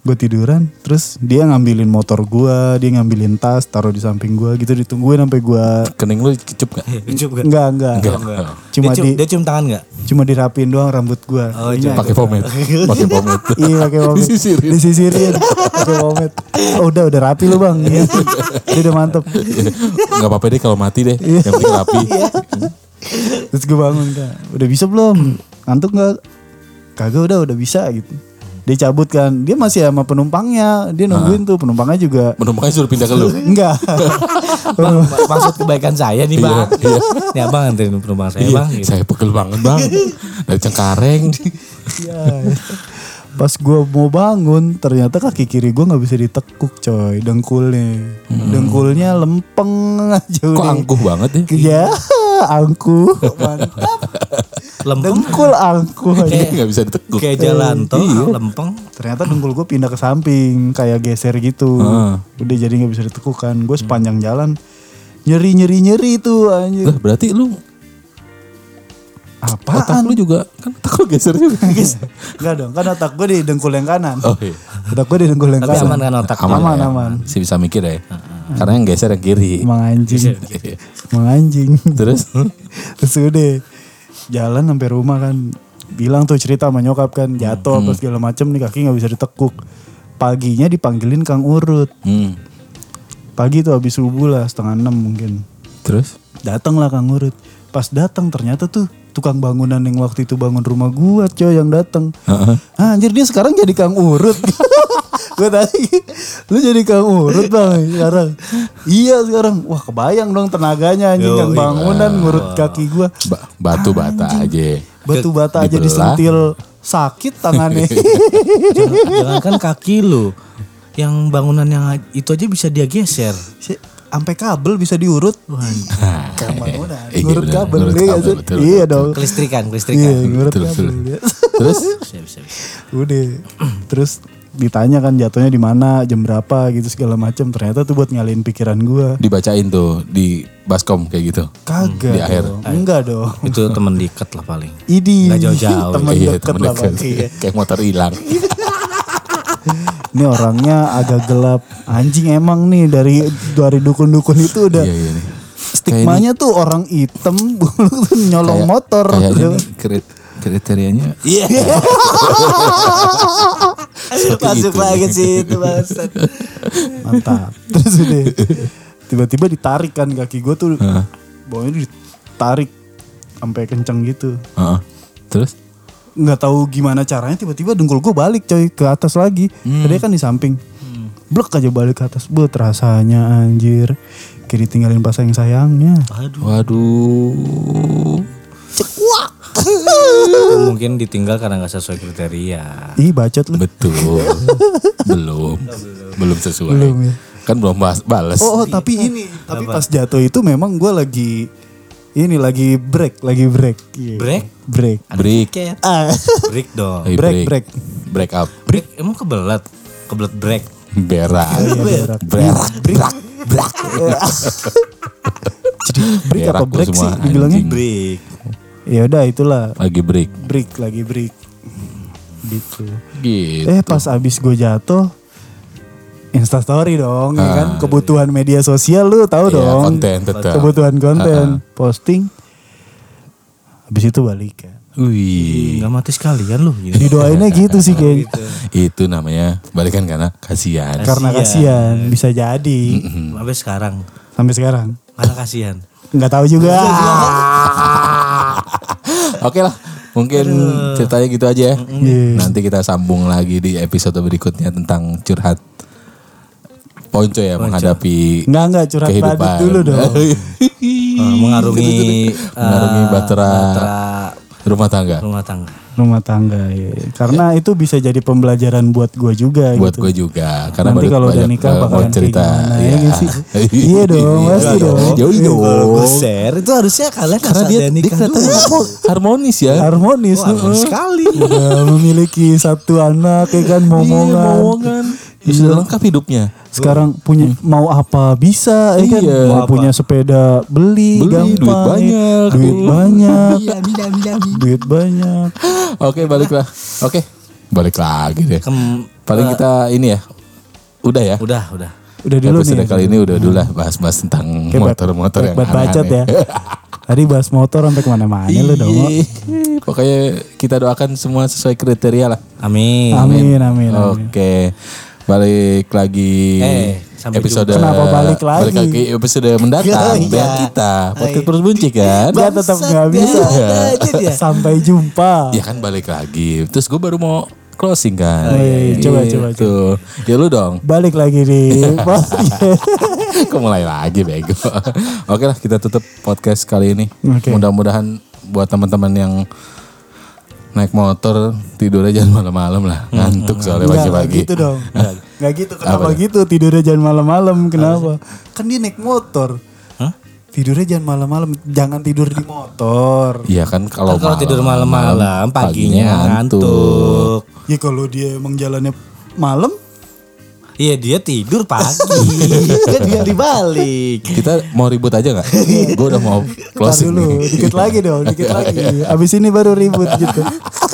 Gue tiduran, terus dia ngambilin motor gue, dia ngambilin tas, taruh di samping gue gitu, ditungguin sampai gue.
Kening lu kecup gak?
Kecup gak?
Enggak. Cuma
dia cium tangan gak?
Cuma dirapiin doang rambut gue.
Oh,
Pakai pomade. Pakai pomade.
Iya pakai pomade. Disisirin. Pakai pomade. Oh, udah rapi lu bang. Iya. Dia udah mantep.
Gak apa-apa deh kalau mati deh. Yang penting rapi.
Terus gue bangun kan. Udah bisa belum? Ngantuk gak? Kagak udah bisa gitu. Dia cabut kan. Dia masih sama penumpangnya. Dia nungguin tuh penumpangnya juga.
Penumpangnya suruh pindah ke lu.
Enggak.
Bang, maksud kebaikan saya nih bang. Nih abang anterin penumpang saya bang. Gitu.
Saya pegel banget bang. Dari Cengkareng.
Iya. Pas gue mau bangun, ternyata kaki kiri gue nggak bisa ditekuk coy, dengkulnya lempeng aja.
Kok angkuh banget ya?
Ya, angkuh, mantap.
Lempeng.
Dengkul angkuh aja.
Gak bisa ditekuk.
Kayak jalan tol, lempeng.
Ternyata dengkul gue pindah ke samping, kayak geser gitu. Udah jadi nggak bisa ditekuk kan. Gue sepanjang jalan nyeri tuh anjir.
Lah berarti lu
Apaan?
otak lu juga kan otak lu geser juga.
Enggak dong, kan otak gue di dengkul yang kanan.
Oh iya.
Otak gue di dengkul yang
Tapi
kanan.
aman kan otak?
Aman,
ya?
aman.
Si bisa mikir ya. Karena yang geser yang kiri.
Emang anjing.
Iya.
Emang anjing.
Terus
Terus udah jalan sampai rumah kan, bilang tuh cerita sama nyokap kan, jatuh apa segala macem nih, kaki nggak bisa ditekuk. Paginya dipanggilin Kang Urut. Pagi tuh habis subuh lah, 5:30 mungkin.
Terus
Datang lah Kang Urut. Pas datang ternyata tuh tukang bangunan yang waktu itu bangun rumah gua coy yang datang. Anjir dia sekarang jadi Kang Urut. Gue tadi, lu jadi Kang Urut bang sekarang. Iya sekarang, wah kebayang dong tenaganya anjing yang bangunan ngurut kaki gue.
batu bata aja.
Batu bata aja
Dibelah.
disentil sakit tangannya.
Jangankan kaki lu, yang bangunan yang itu aja bisa dia geser.
Sampai kabel bisa diurut.
Nah,
Kayak bangunan,
iya,
ngurut
bener,
kabel.
ngurut
Iya
kabel,
sih?
betul,
Iya
betul.
dong.
Kelistrikan.
Iya ngurut
Betul,
kabel.
betul.
dia.
Terus
Bisa.
Udah. Terus ditanya kan jatuhnya di mana, jam berapa gitu segala macam. Ternyata tuh buat ngalihin pikiran gua.
dibacain tuh di baskom kayak gitu.
Kagak.
Di akhir.
dong. Enggak dong.
Itu temen diket lah paling.
Idi.
Nggak jauh-jauh.
Temen
Iya,
deket
temen
lah
deket.
pasti.
Kayak motor hilang.
Ini orangnya agak gelap. Anjing emang nih dari dukun-dukun itu udah.
Iya nih.
Stigmanya tuh orang hitam nyolong
Kayak-
motor.
Kayaknya nih, kriterianya. Iya.
Masuk lagi sih itu bangsat.
Mantap. Terus udah tiba-tiba ditarik kan kaki gue tuh. Bawahnya ditarik sampai kenceng gitu.
Terus
Nggak tahu gimana caranya tiba-tiba dengkul gue balik coy ke atas lagi. Tadi kan di samping. Blek aja balik ke atas. Buat rasanya anjir. Kayak ditinggalin pasang sayangnya.
waduh.
Cekuak.
Mungkin ditinggal karena gak sesuai kriteria.
Ih bacot lu.
Betul. belum sesuai.
Belum ya.
Kan belum balas.
Oh tapi ini. Tapi pas jatuh itu memang gue lagi break. Iya.
Break?
Break.
Break.
Break dong.
Hey,
Break.
Break up.
Break emang kebelet break.
Berak.
Berak.
Berak.
Jadi break
Berak
apa
lu
break sih
semua,
dibilangnya?
anjing.
Break.
Ya udah itulah
Lagi break.
lagi break. Gitu.
Gitu.
Pas abis gue jatuh Instastory dong ya kan, kebutuhan media sosial lu tahu
Iya,
dong.
konten tetap.
Kebutuhan konten, posting. Habis itu balik kan.
Wih.
Nggak mati sekalian lu. Gitu.
Didoainnya gitu sih kayak
Itu namanya balikan karena kasihan.
karena kasihan bisa jadi
Sampai sekarang.
sampai sekarang.
Mana kasihan.
Nggak tahu juga.
Oke lah. Mungkin ceritanya gitu aja ya.
Iya.
Nanti kita sambung lagi di episode berikutnya tentang curhat Ponco ya menghadapi
Enggak curhat
kehidupan.
badut dulu dong.
Mengarungi
Bahtera rumah tangga.
Rumah tangga ya. Karena itu bisa jadi pembelajaran buat gue juga
Buat
gitu.
gue juga. Karena
Nanti
baru
kalau udah
banyak
nikah bakalan kayak
cerita.
gimana, ya
Iya.
nggak sih? Iya dong, pasti dong.
Yoi
Kalau gue
dong.
share itu harusnya kalian
Karena
asal
dia
nikah
kelihatannya harmonis ya.
Harmonis.
Harmonis sekali.
Udah memiliki satu anak ya kan,
Iya,
momongan.
momongan. Sudah lengkap hidupnya.
Sekarang punya mau apa bisa ya kan.
Iya.
Mau punya sepeda beli gampang.
duit banyak.
Duit banyak.
Iya,
Duit banyak.
Oke, baliklah. Oke. Balik lagi deh. Paling kita ini ya. Udah ya.
Udah.
Udah dulu
episode
nih.
kali ini udah dulu lah bahas-bahas tentang motor-motor yang
bacot ya. Tadi bahas motor sampai kemana-mana lu dong.
Pokoknya kita doakan semua sesuai kriteria lah.
Amin.
Amin.
Oke. Balik lagi
sampai
episode
jumpa. Kenapa balik lagi?
Episode mendatang dengan kita podcast Perut Buncit kan.
Dia tetap gak bisa. Sampai jumpa.
Ya kan balik lagi. Terus gue baru mau closing kan.
Coba.
Tuh. Ya lu dong.
Balik lagi nih.
Kok mulai lagi bego. Oke lah kita tutup podcast kali ini.
Oke.
Mudah-mudahan buat teman-teman yang naik motor tidurnya jangan malam-malam lah. Ngantuk soalnya pagi-pagi.
Gak gitu dong. Gak gitu. Kenapa gitu? Tidurnya jangan malam-malam. Kenapa? Kan dia naik motor. Tidurnya jangan malam-malam. Jangan tidur di motor.
Iya kan kalau
tidur malam-malam paginya ngantuk.
Ya kalau dia emang jalannya malam.
Iya dia tidur pagi. Kan dia dibalik.
Kita mau ribut aja gak? Gue udah mau
Ntar
closing
dulu,
nih.
dikit lagi dong, dikit lagi. Abis ini baru ribut gitu.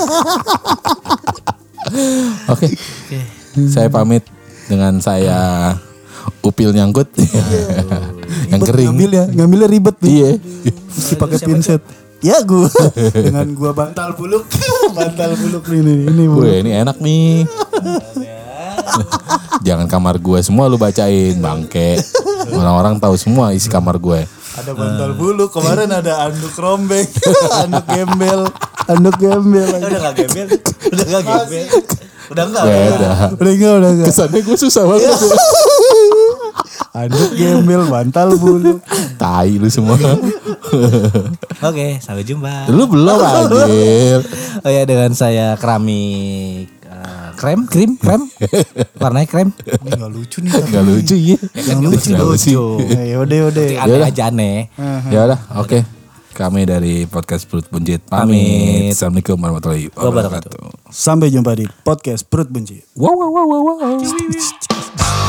Oke. Saya pamit dengan saya upil nyangkut. Yang kering.
Ngambilnya ribet tuh.
Iya.
Mesti pakai pinset. Ya gue dengan gua bantal buluk ini
Gue ini enak nih. Jangan kamar gue semua lu bacain bangke. Orang-orang tahu semua isi kamar gue.
ada bantal buluk, kemarin ada anduk rombeng, anduk gembel.
Udah gak gembel. Udah enggak.
Udah enggak.
Kesannya gue susah banget.
Anduk gembel, bantal buluk.
Tai lu semua.
Oke, sampai jumpa.
Lu belum anjir.
Oh ya, dengan saya keramik krem warnanya krem.
Ini gak lucu nih.
Gak lucu ya.
Yang lucu.
Yaudah.
Aneh aja aneh.
Ya udah, oke. Kami dari podcast Perut Buncit pamit. Assalamualaikum warahmatullahi wabarakatuh.
Sampai jumpa di podcast Perut Buncit.
Wow.